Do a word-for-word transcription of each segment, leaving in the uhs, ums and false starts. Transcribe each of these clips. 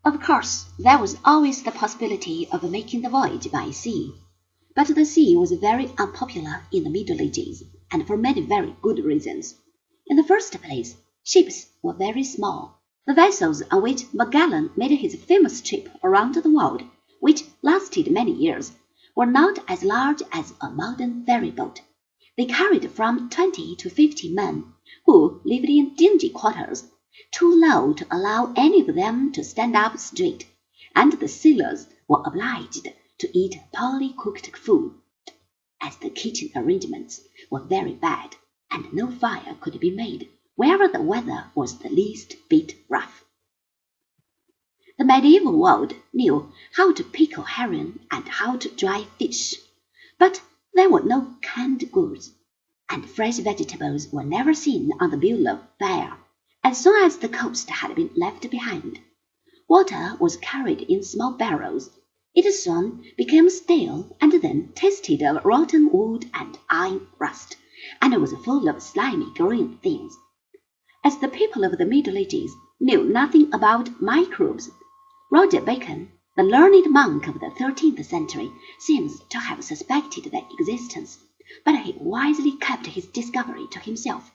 Of course, there was always the possibility of making the voyage by sea, but the sea was very unpopular in the Middle Ages, and for many very good reasons. In the first place, ships were very small. The vessels on which Magellan made his famous trip around the world, which lasted many years, were not as large as a modern ferry boat. They carried from twenty to fifty men, who lived in dingy quarters, too low to allow any of them to stand up straight, and the sailors were obliged to eat poorly cooked food, as the kitchen arrangements were very bad, and no fire could be made wherever the weather was the least bit rough. The medieval world knew how to pickle herring and how to dry fish, but there were no canned goods, and fresh vegetables were never seen on the bill of fare. As soon as the coast had been left behind, water was carried in small barrels. It soon became stale and then tasted of rotten wood and iron rust, and was full of slimy green things. As the people of the Middle Ages knew nothing about microbes, Roger Bacon, the learned monk of the thirteenth century, seems to have suspected their existence, but he wisely kept his discovery to himself.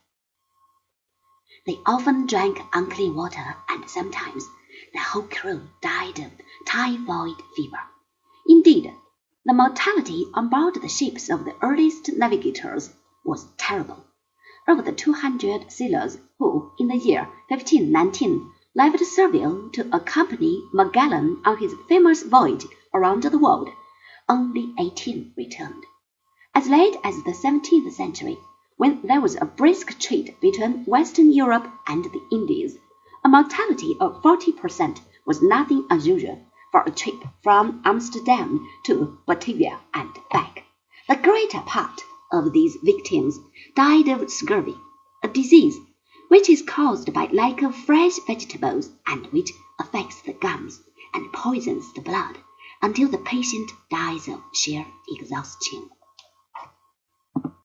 They often drank unclean water, and sometimes the whole crew died of typhoid fever. Indeed, the mortality on board the ships of the earliest navigators was terrible. Of the two hundred sailors who, in the year fifteen nineteen, left Seville to accompany Magellan on his famous voyage around the world, only eighteen returned. As late as the seventeenth century, when there was a brisk trade between Western Europe and the Indies, a mortality of forty percent was nothing unusual for a trip from Amsterdam to Batavia and back. The greater part of these victims died of scurvy, a disease which is caused by lack of fresh vegetables and which affects the gums and poisons the blood until the patient dies of sheer exhaustion.